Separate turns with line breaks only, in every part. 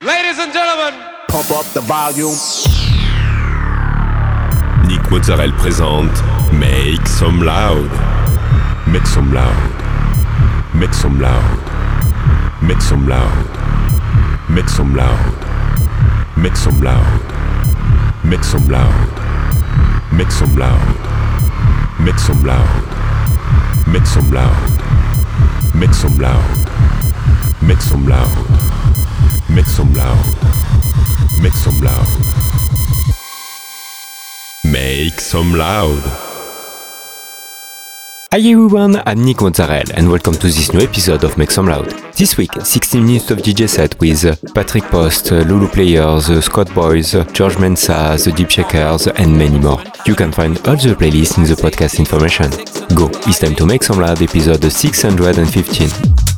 Ladies and gentlemen,
pump up the volume.
Nick Mozzarella présente Make Some Loud. Make some loud. Make some loud. Make some loud. Make some loud. Make some loud. Make some loud. Make some loud. Make some loud. Make some loud. Make some loud. Make some loud. Make some loud. Make some loud. Make some loud.
Hi everyone, I'm Nick Mozzarella and welcome to this new episode of Make Some Loud. This week, 16 minutes of DJ set with Patrick Post, Lulu Players, Scott Boys, George Mensa, The Deep Shakers and many more. You can find all the playlists in the podcast information. Go, it's time to Make Some Loud episode 615.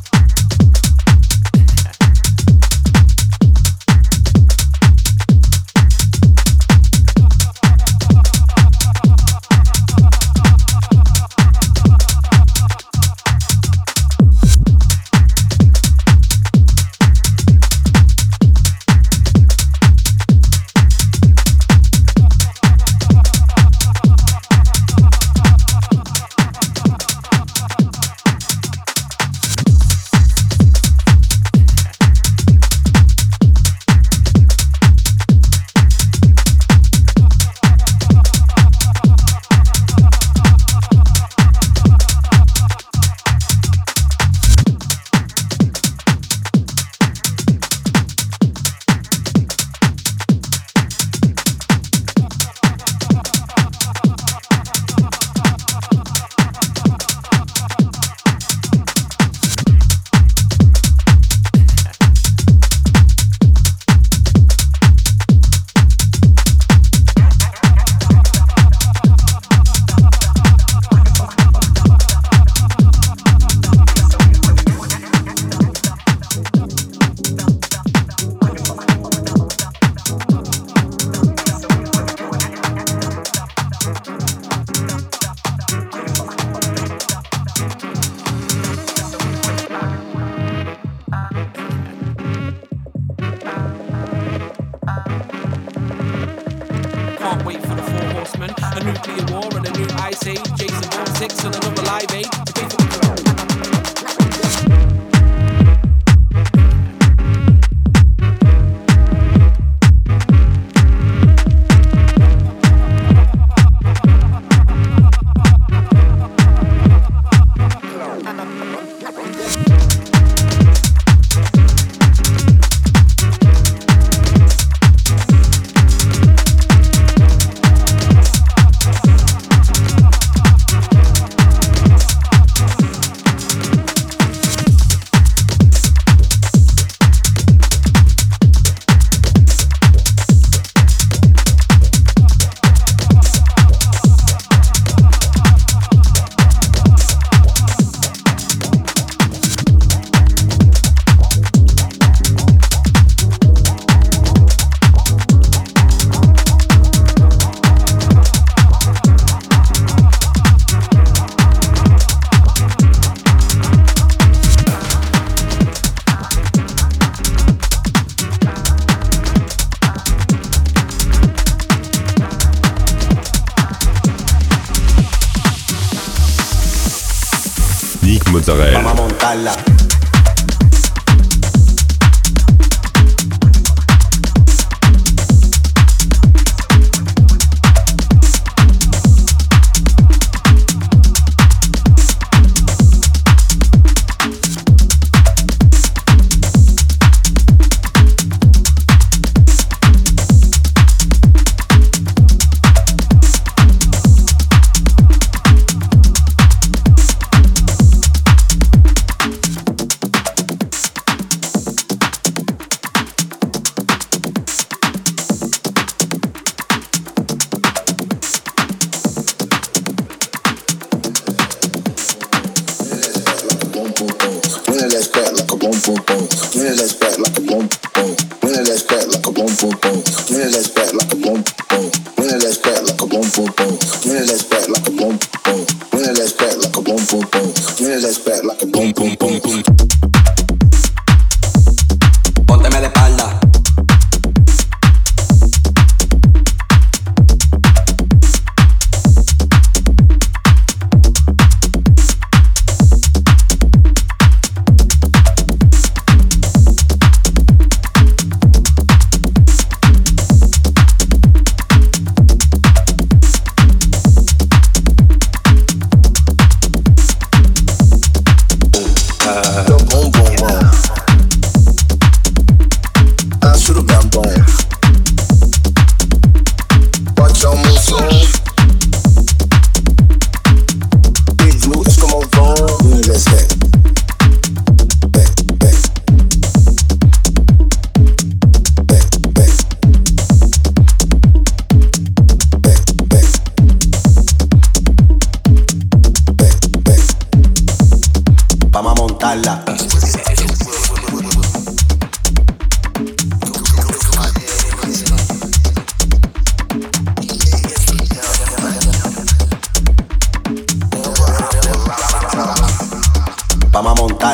Mozzarella.
Vamos a montarla.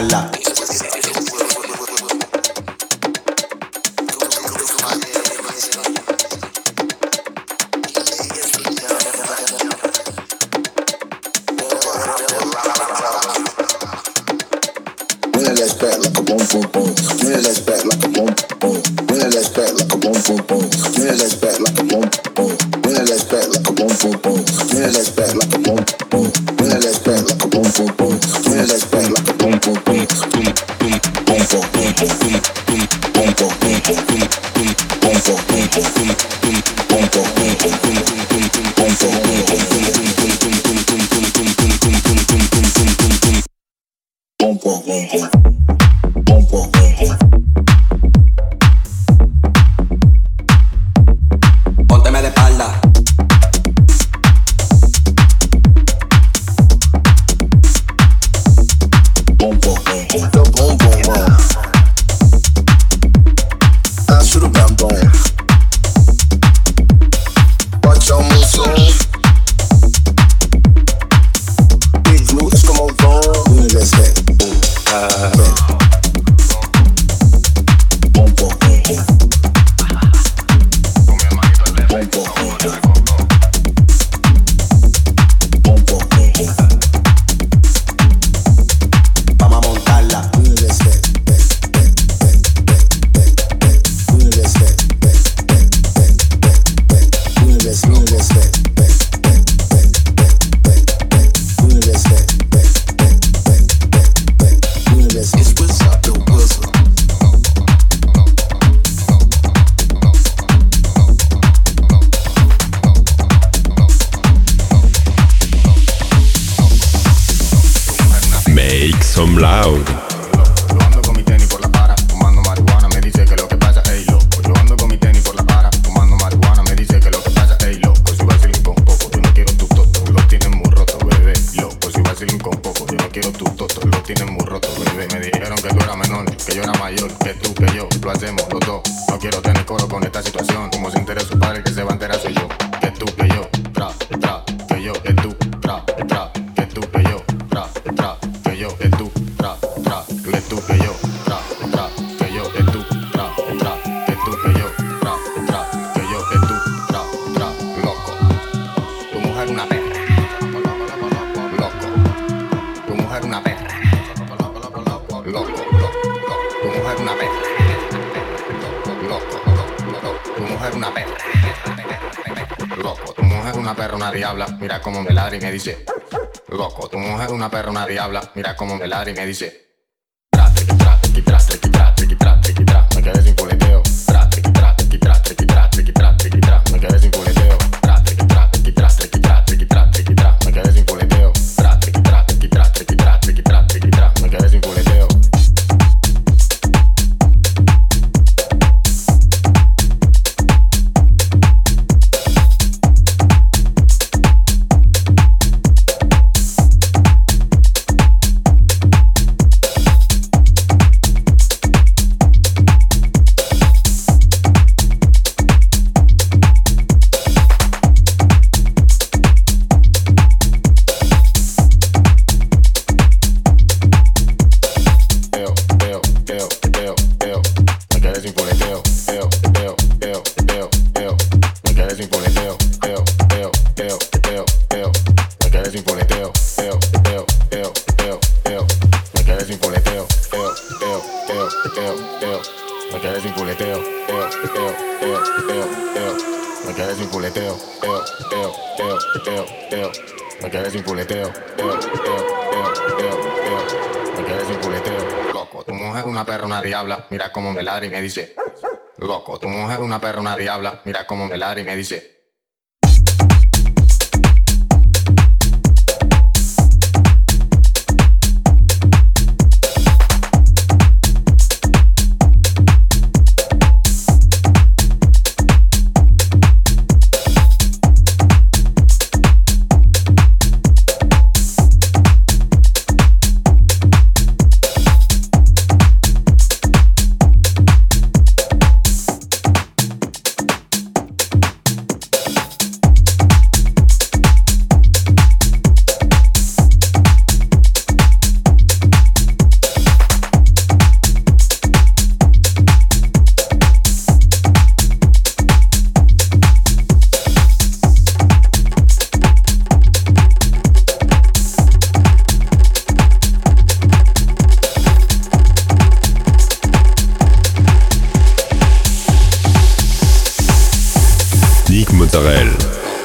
montarla.
Some Loud.
Yo ando con mi tenis por la para, fumando marihuana, me dice que lo que pasa, ey loco. Yo ando con mi tenis por la para, fumando marihuana, me dice que lo que pasa, ey loco. Si vacilin con poco, yo no quiero tu toto, lo tienes muy roto, bebé. Loco, si vacilin con poco, yo no quiero tu toto, lo tienes muy roto, bebé. Me dijeron que tú eras menor, que yo era mayor, que tú, que yo, lo hacemos los dos. No quiero tener coro con esta situación, como se entere su padre, que se va a enterar soy yo. Que tú, que yo, tra, tra, que yo, que tú, tra, tra, que tú, que yo, tra, tra, que yo, que tú. Que tú, que yo, tra, tra, que yo, que tú, tra, tra, que tú, que yo, tra, tra, que yo, que tú, tra, tra, loco. Tu mujer una perra, loco. Tu mujer una perra, loco. Tu mujer una perra, loco. Tu mujer una perra, loco. Tu mujer una perra, una diabla, mira cómo me ladra y me dice, loco. Tu mujer una perra, una diabla, mira cómo me ladra y me dice. Me quedé sin puleteo. Me quedé sin puleteo. Me quedé sin puleteo. Me quedé sin puleteo. Me quedé sin puleteo. Me quedé sin puleteo. Loco, tu mujer una perra, una diabla, mira cómo me ladra y me dice. Loco, tu mujer una perra, una diabla, mira cómo me ladra y me dice.
Mozzarella.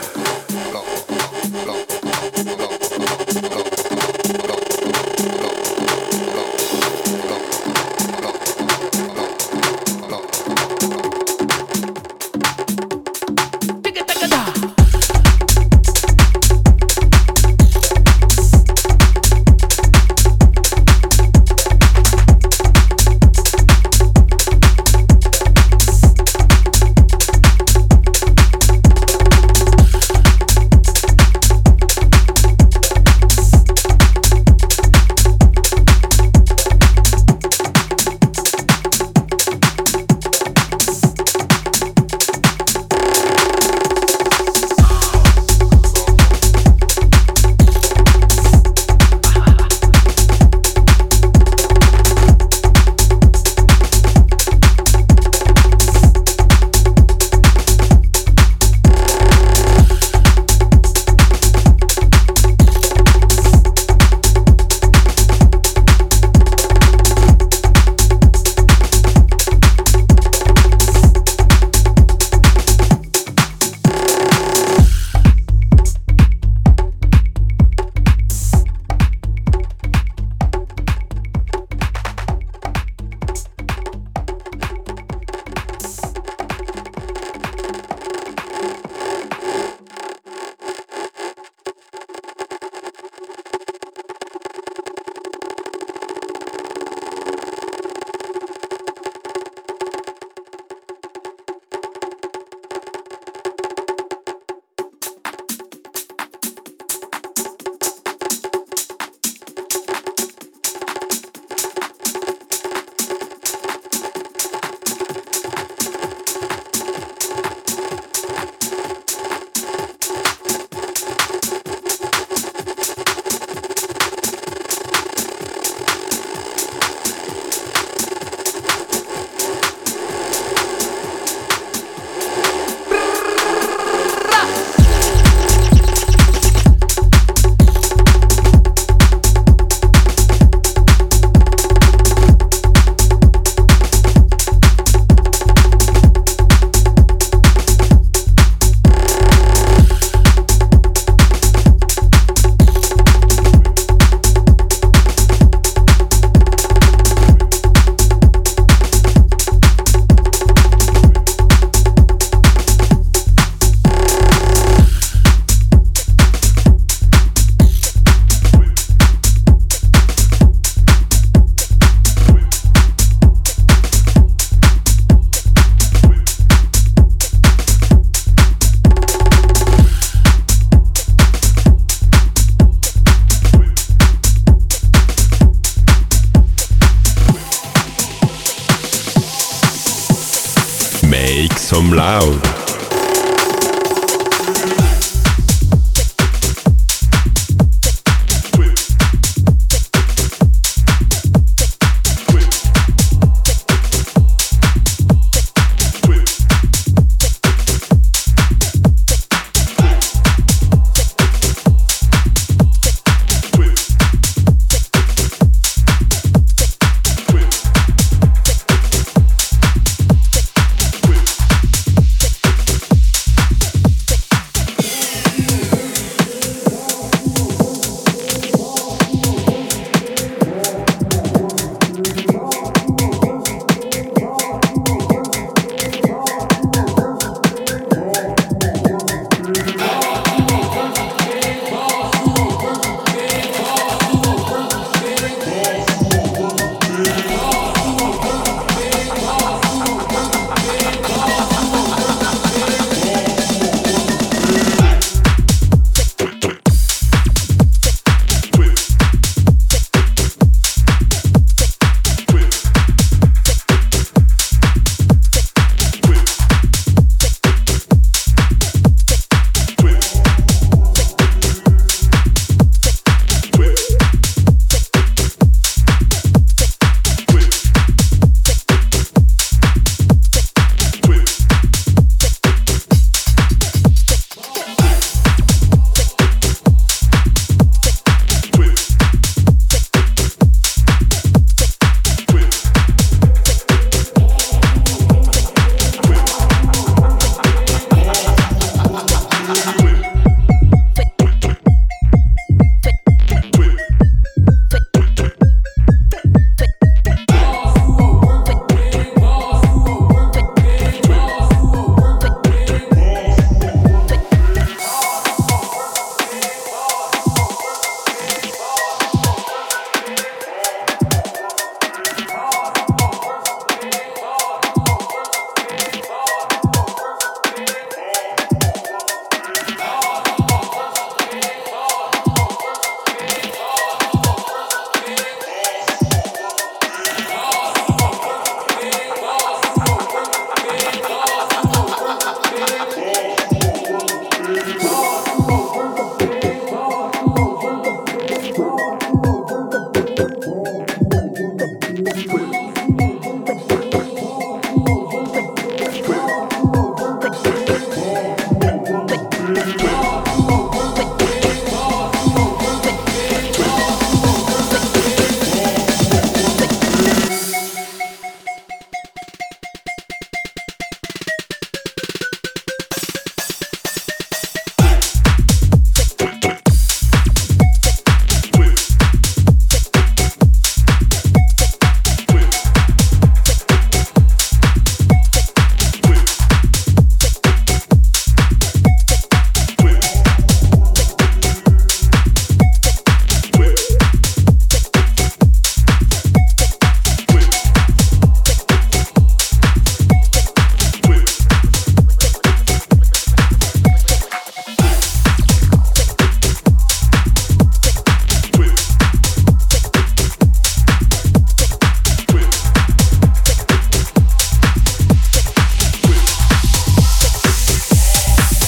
Make some loud.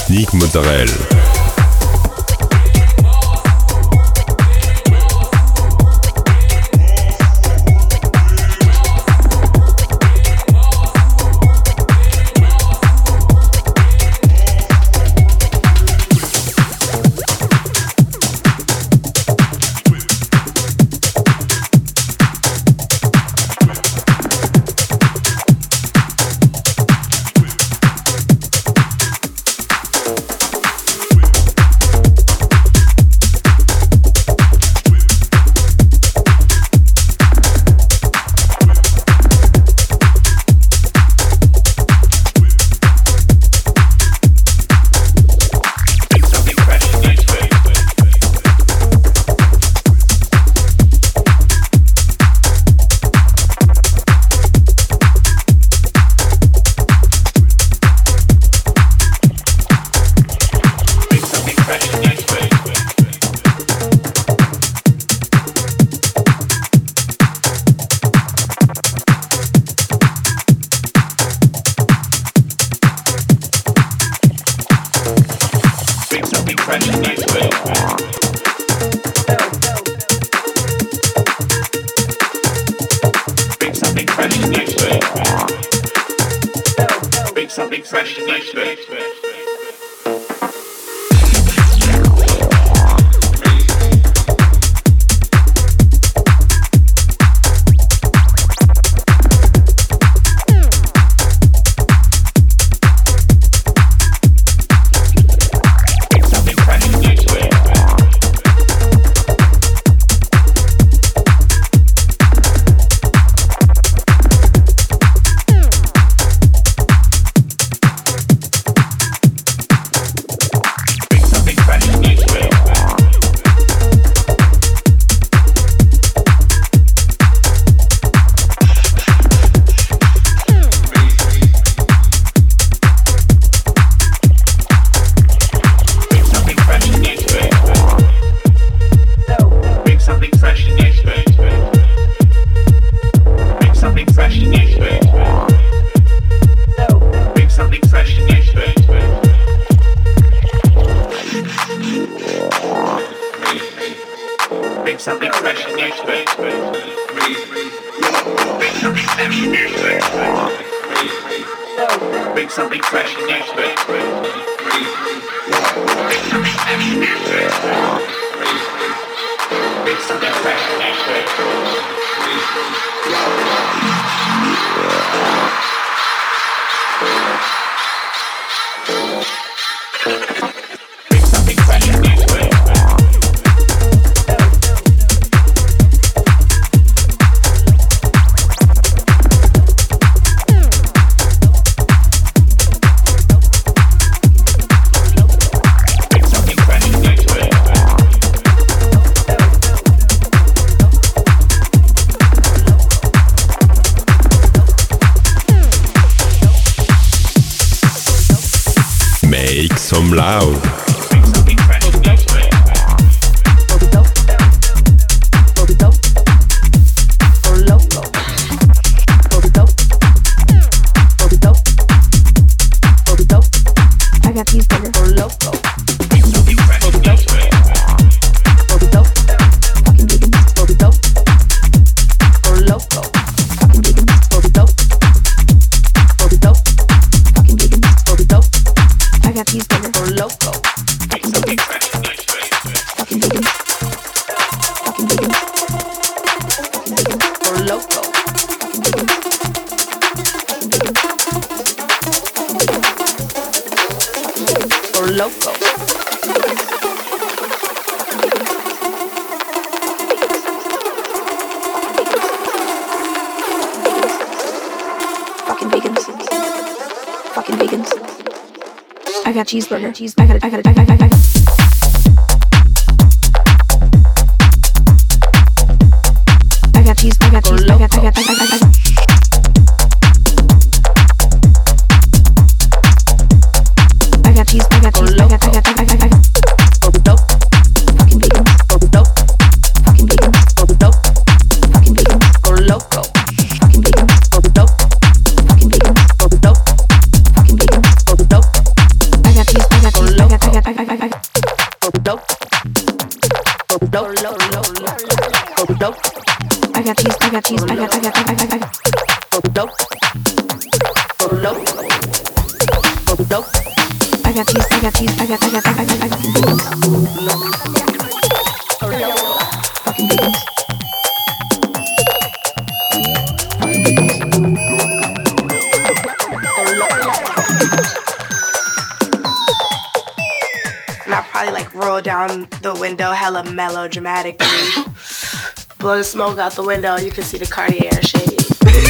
Nick Mozzarella. Some loud.
I got cheeseburger. I got it. I got it. I got it. I got cheese. I got cheese. I got. I got cheese. I got cheese. I got. Fucking vegan. Fucking vegan. Fucking vegan. Loco. Fucking vegan. Fucking vegan. Fucking vegan. I got cheese. I got cheese.
Down the window hella melodramatically. Blow the smoke out the window, you can see the Cartier shade.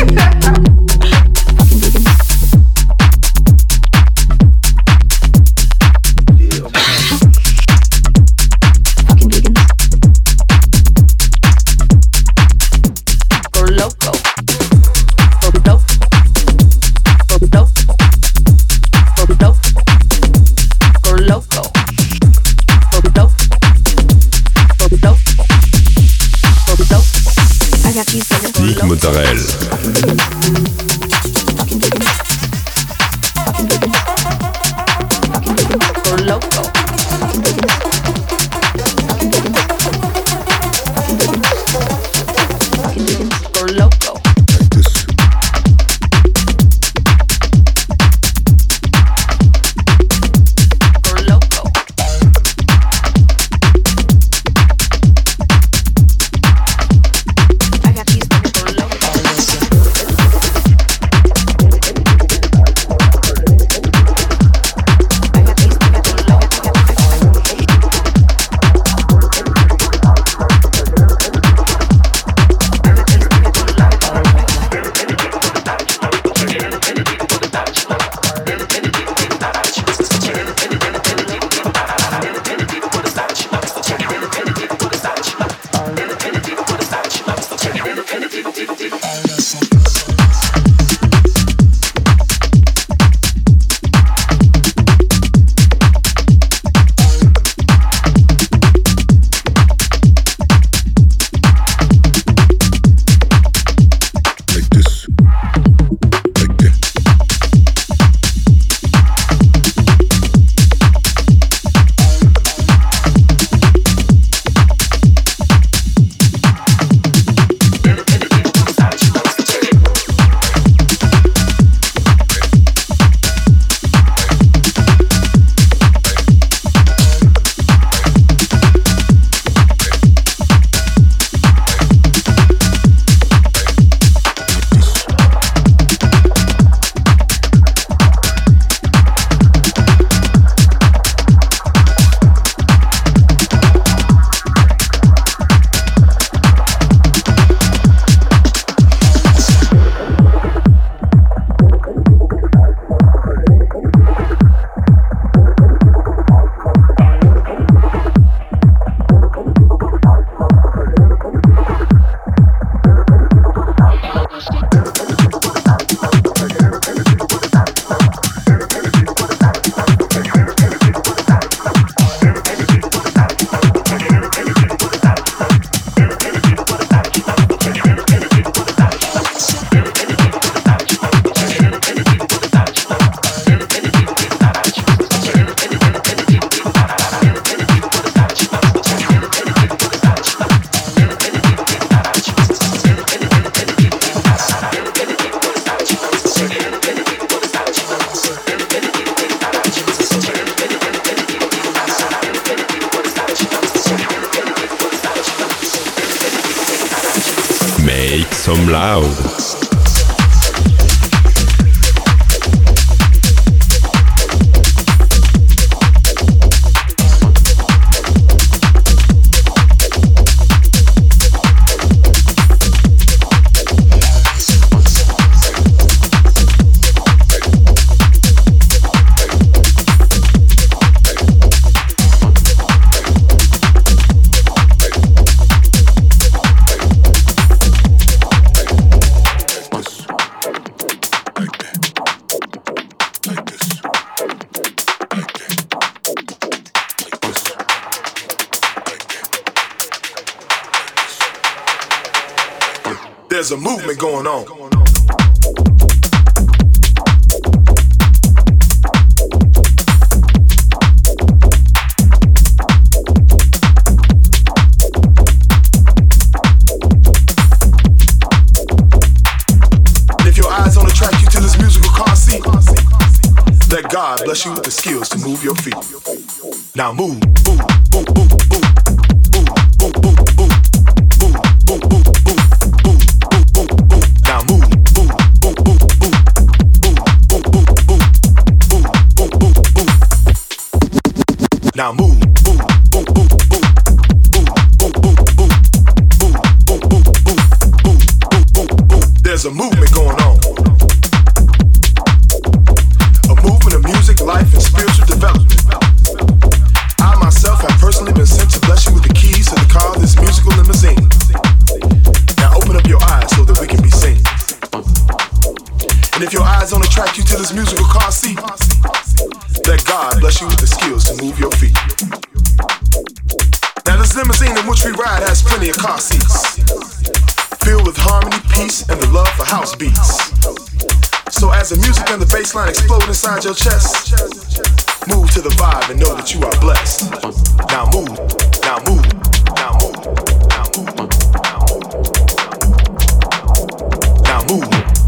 Nick Mozzarella. Make some loud.
There's a movement going on. Let God bless you with the skills to move your feet. Now move, move, move, move, move. Now move, move, move, move, move, there's a movement going on. A movement of music, life, and spiritual development. I myself have personally been sent to bless you with the keys to the car of this musical limousine. Now open up your eyes so that we can be seen. And if your eyes don't attract you to this musical car seat, let God bless you with the skills to move your feet. Now this limousine in which we ride has plenty of car seats, filled with harmony, peace, and the love for house beats. So as the music and the bass line explode inside your chest, move to the vibe and know that you are blessed. Now move, now move, now move, now move, now move,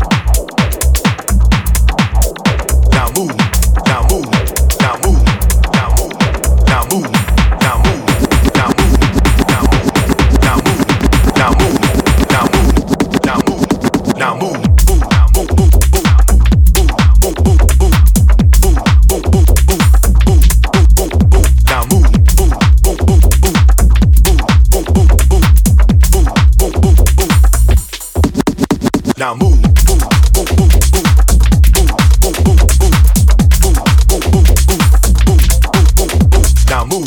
now move, now move, now move, now move, now move, now move, now move, now move, now move, now move, now move, now move, now move, now move, move, move, move, move, move, move, now move, move, move, move, now move. Now move.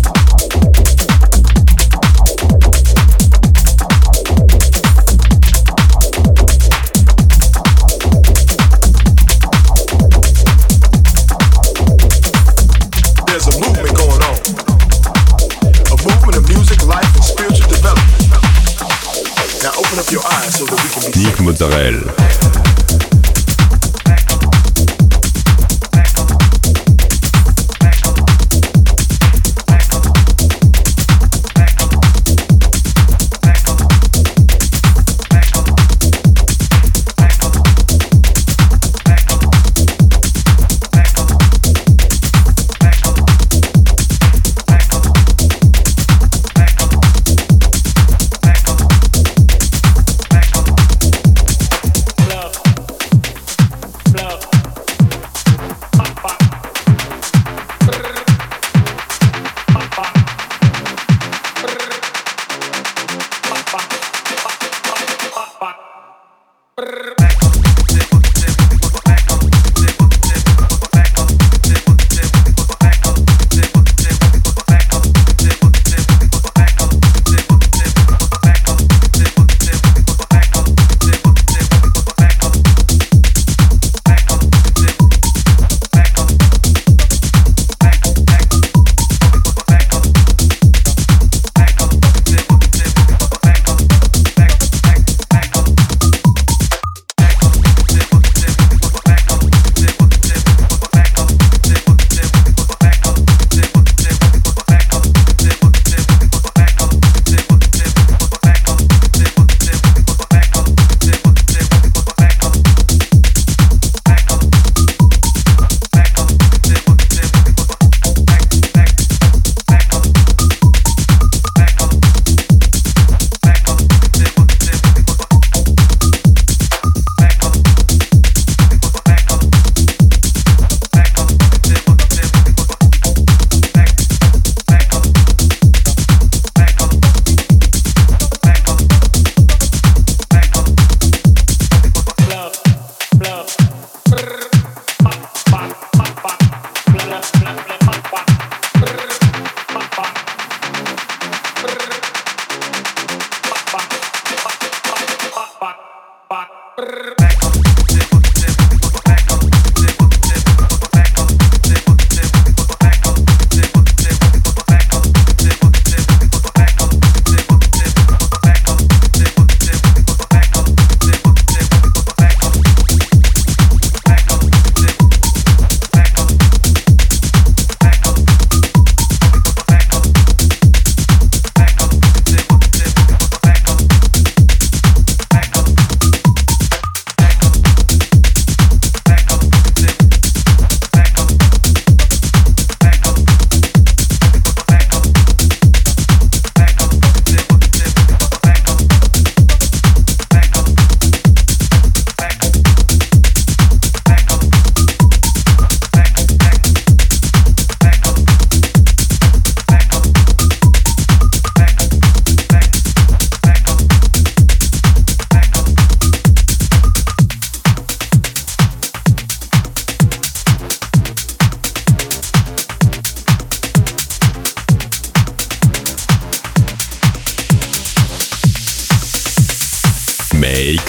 There's a movement going on. A movement of music, life, and spiritual development. Now open up your eyes so that we can be
Nick Mozzarella.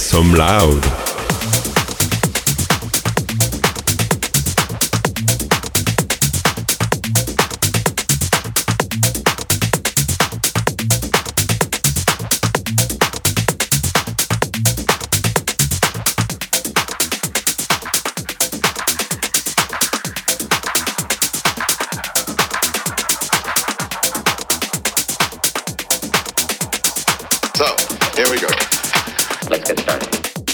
some loud.
So, here we go.
Let's get started.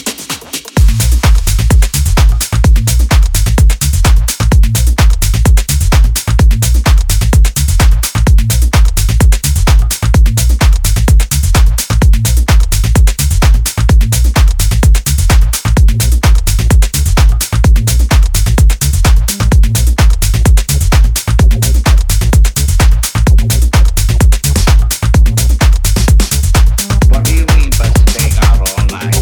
What do you mean by staying out all night?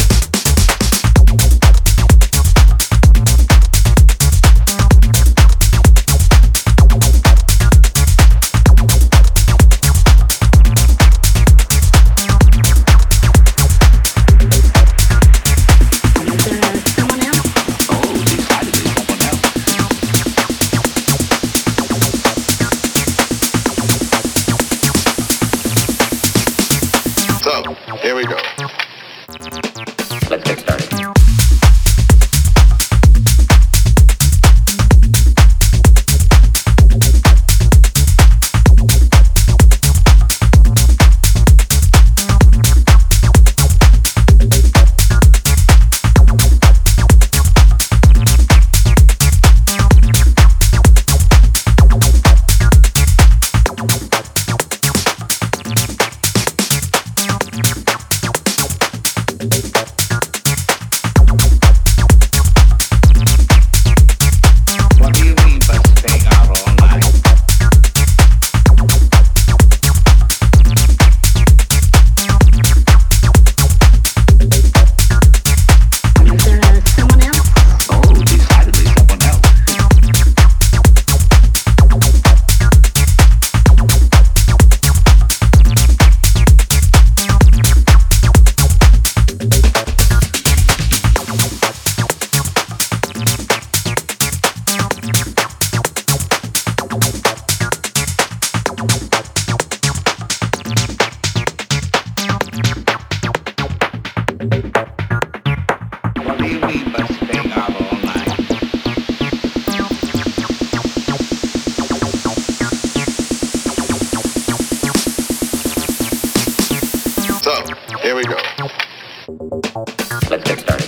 Oh, decidedly someone else.
So, here we go.
Let's get started. What do you mean by staying out all night? Oh, decidedly someone else. What do you mean by staying out all night?
So, here we go.
Let's get started.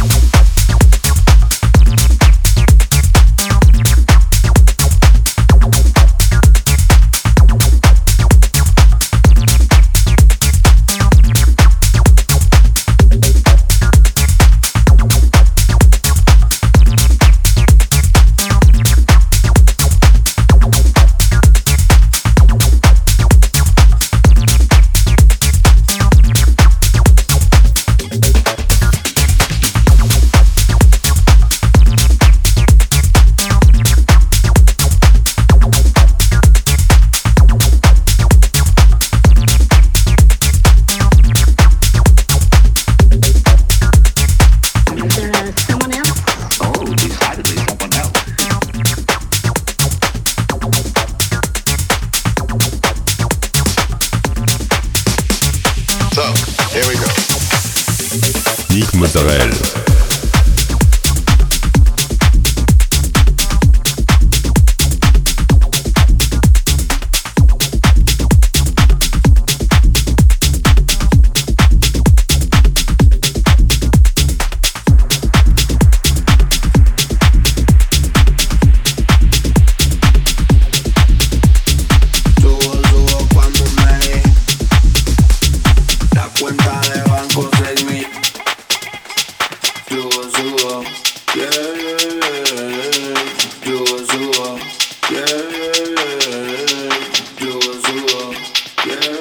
Oh, decidedly someone else.
So, here we go.
Nick Mozzarella.
Subo cuando me la cuenta de banco 6,000. Subo, yeah. Subo, yeah. Subo, yeah.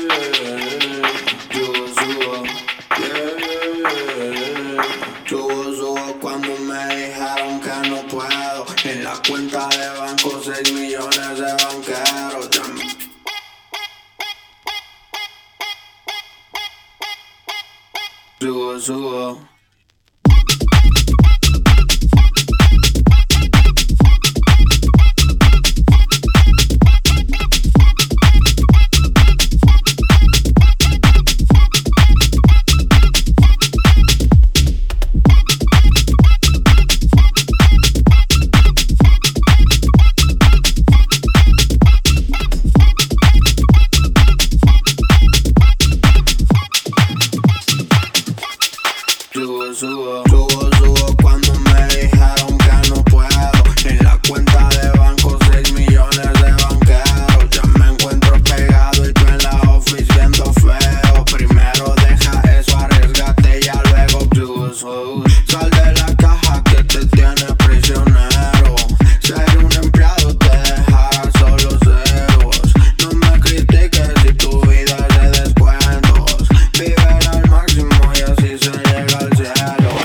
Subo cuando me dijeron que no puedo. En la cuenta de banco 6 millones de banqueros. Subo, subo. Subo cuando me dijeron que no puedo. En la cuenta de banco 6 millones de banqueros. Ya me encuentro pegado y tú en la office viendo feo. Primero deja eso, arriesgate y ya luego subo. Sal de la caja que te tiene prisionero. Ser un empleado te dejará solo ceros. No me critiques si tu vida es de descuentos. Vive al máximo y así se llega al cielo.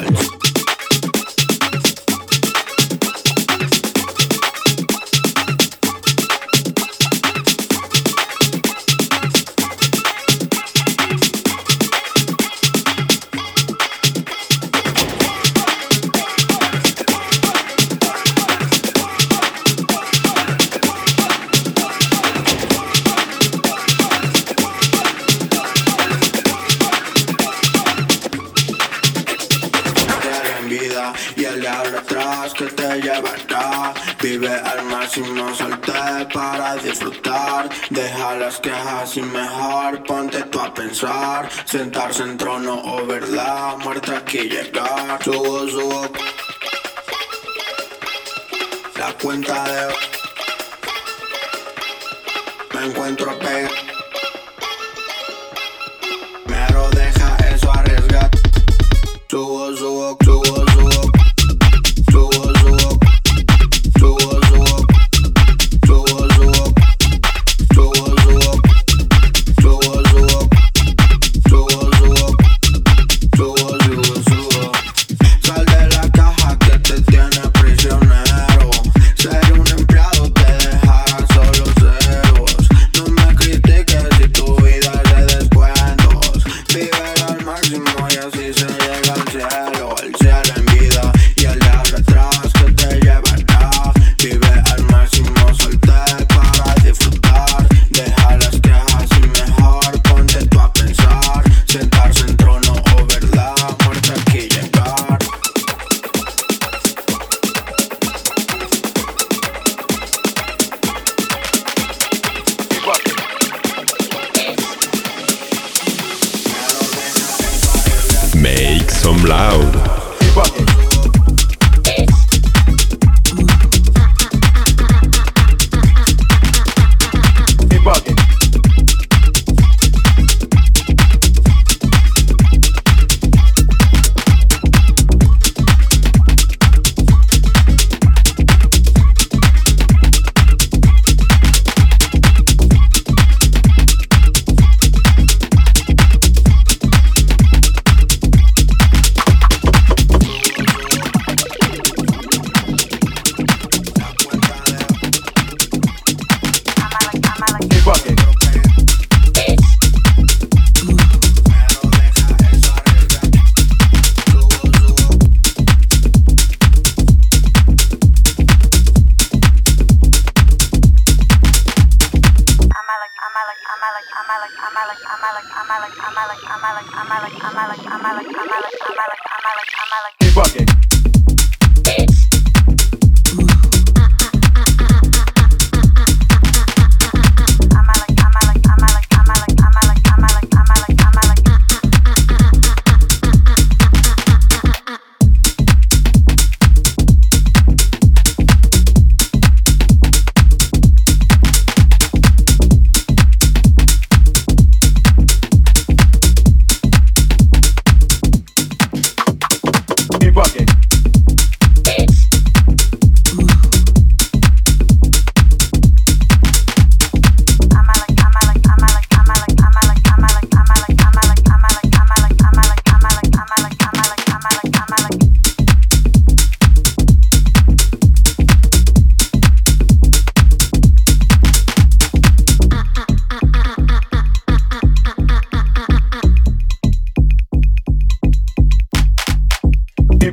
Y el diablo atrás que te llevará. Vive al máximo, salte para disfrutar. Deja las quejas y mejor ponte tú a pensar. Sentarse en trono o verdad, muerte aquí llegar. Subo la cuenta de me encuentro pegado. Pero deja eso, arriesgar. Subo. Sal de la caja que te tiene prisionero. Ser un empleado te dejará solo ceros. No me critiques si tu vida es de descuentos. Vive al máximo y así se llega al cielo. El cielo en vida y el diablo atrás que te llevará. Vive al máximo, salte para disfrutar. Deja las quejas y mejor ponte tú a pensar. Sentarse en trono o verdad, muerte aquí llegar.
Make some loud.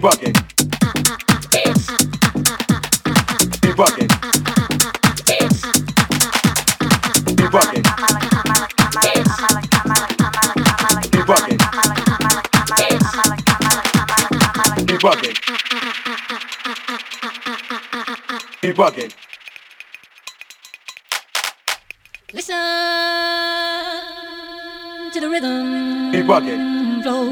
bugging. He bugging. He bugging. He bugging. He bugging. He bugging.
Listen to the rhythm.
He bugging.
Flow.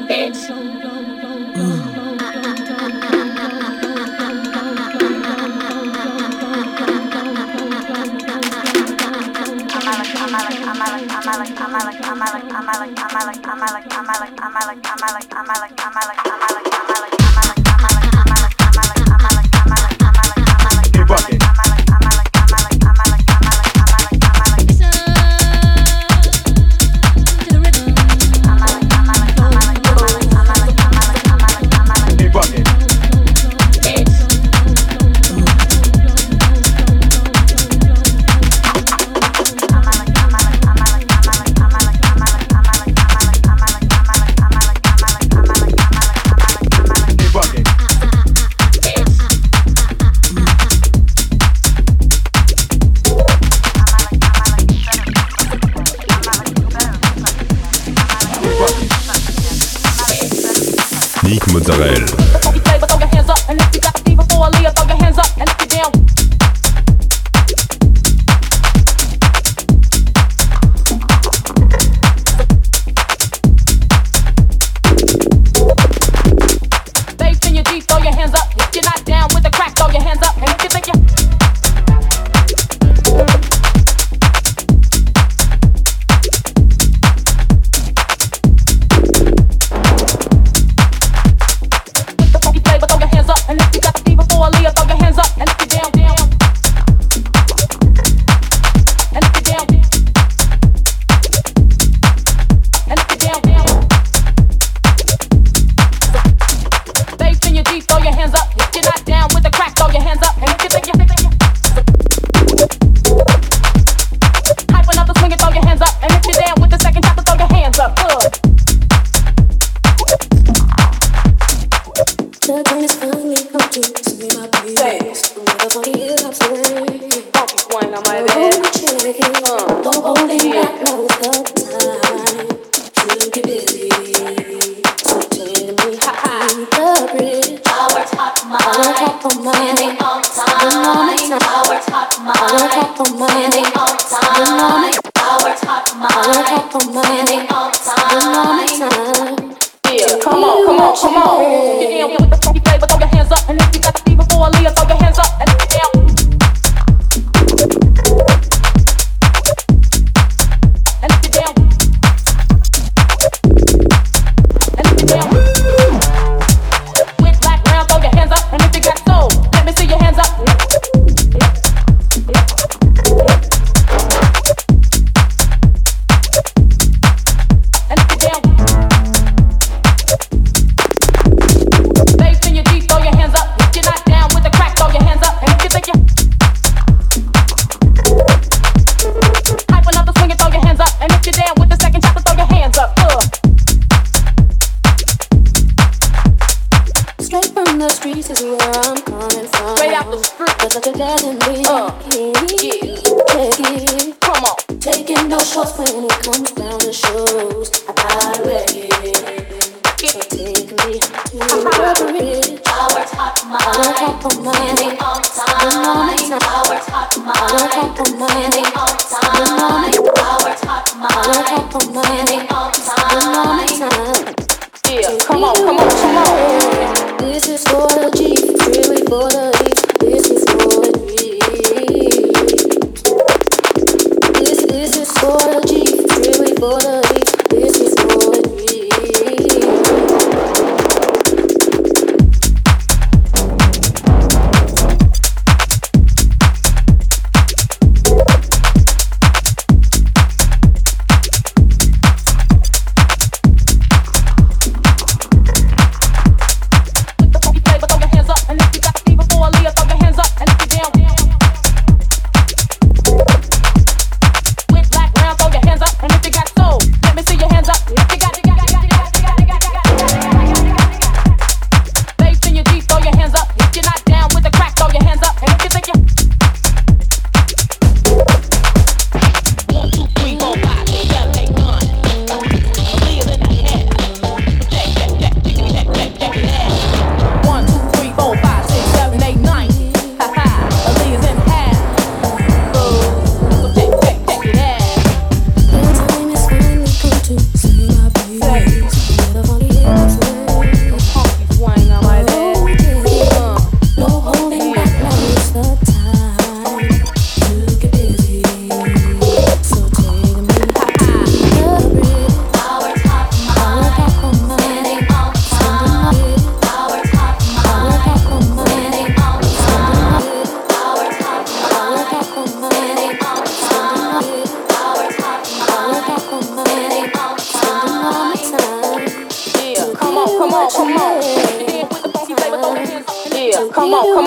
Nick Mozzarella.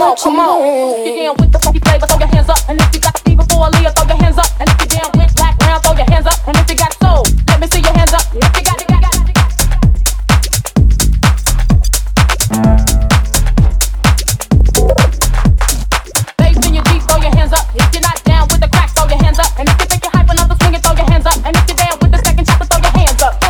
on, come on. If you're down with the funky flavor, throw your hands up. And if you got the fever for a Leah, throw your hands up. And if you're down with black round, throw your hands up. And if you got soul, let me see your hands up. If you got bass in your Jeep, throw your hands up. If you're not down with the crack, throw your hands up. And if you think you're hype enough to swing it, throw your hands up. And if you're down with the second chopper, throw your hands up.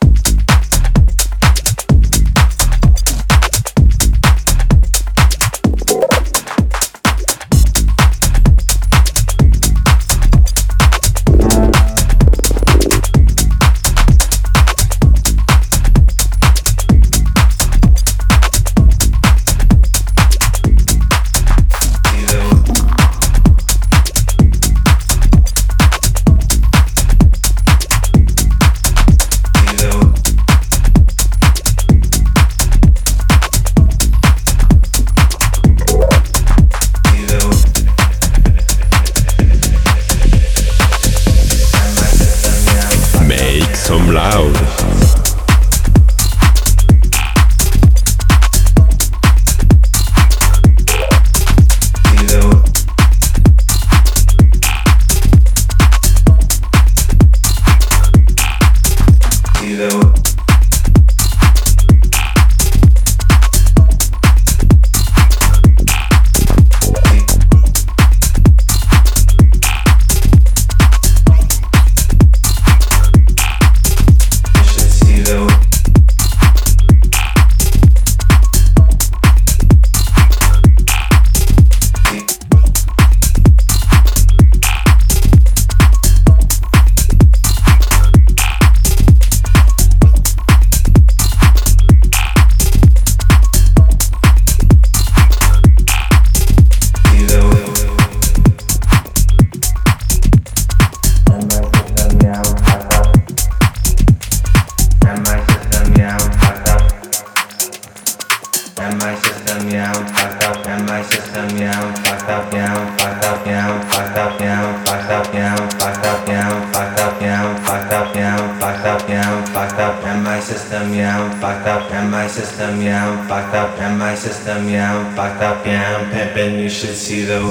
See the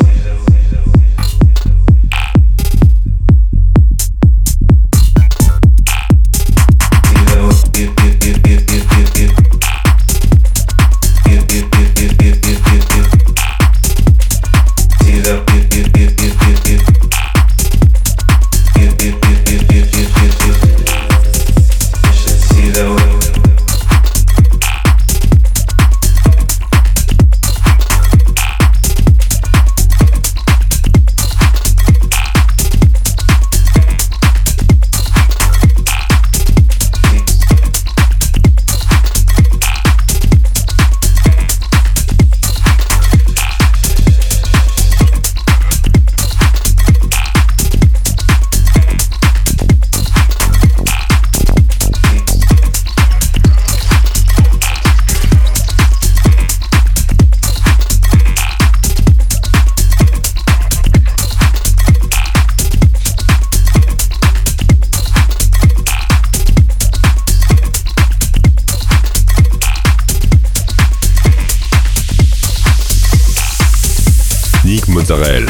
Mozzarella.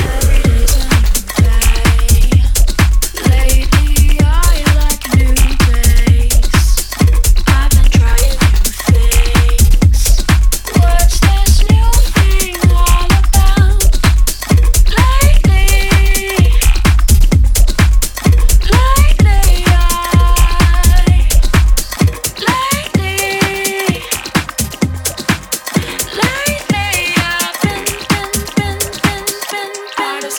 Part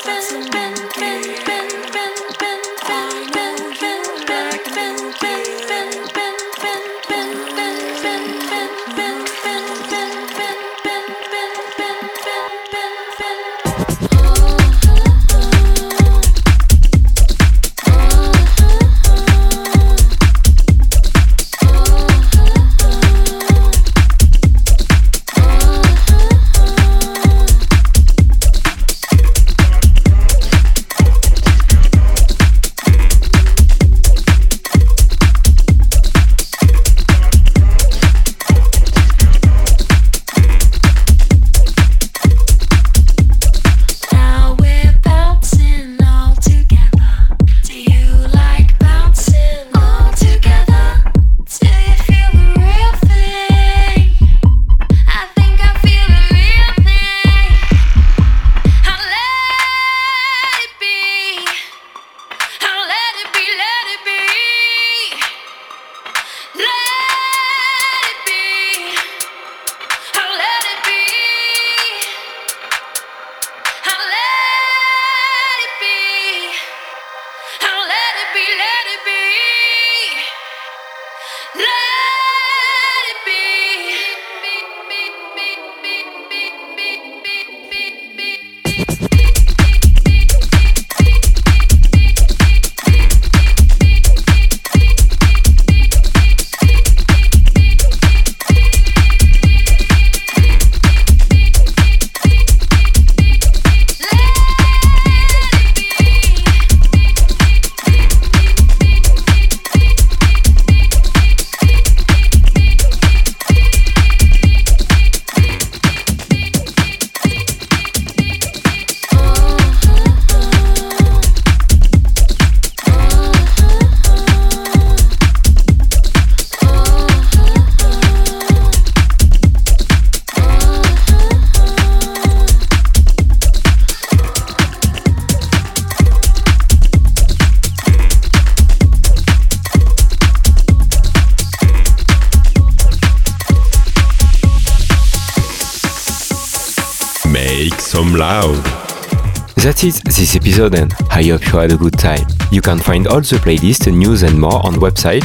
some loud.
That's it, this episode, and I hope you had a good time. You can find all the playlists, news and more on website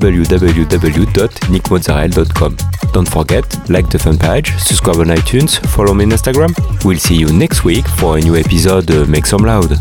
www.nickmozzarella.com. Don't forget, like the fan page, subscribe on iTunes, follow me on Instagram. We'll see you next week for a new episode Make Some Loud.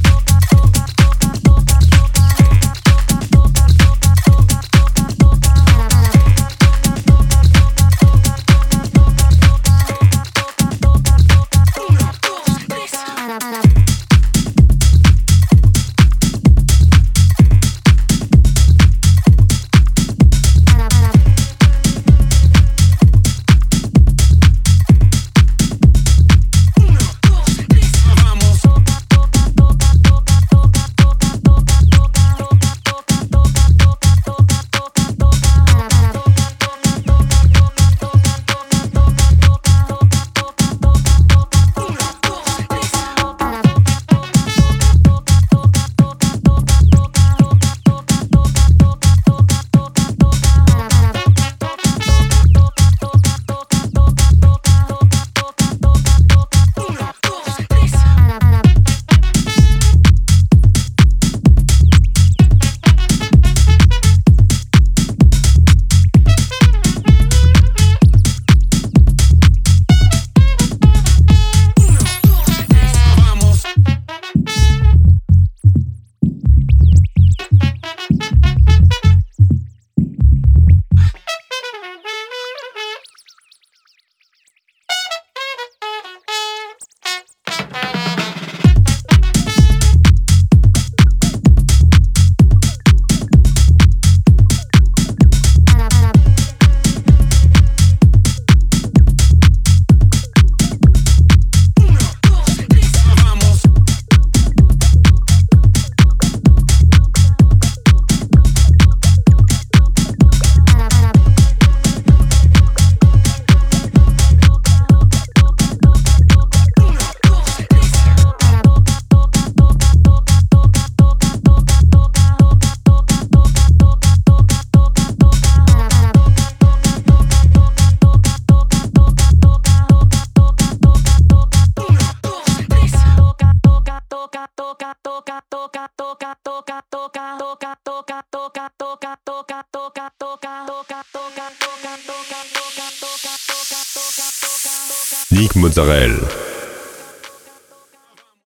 Nick Mozzarella.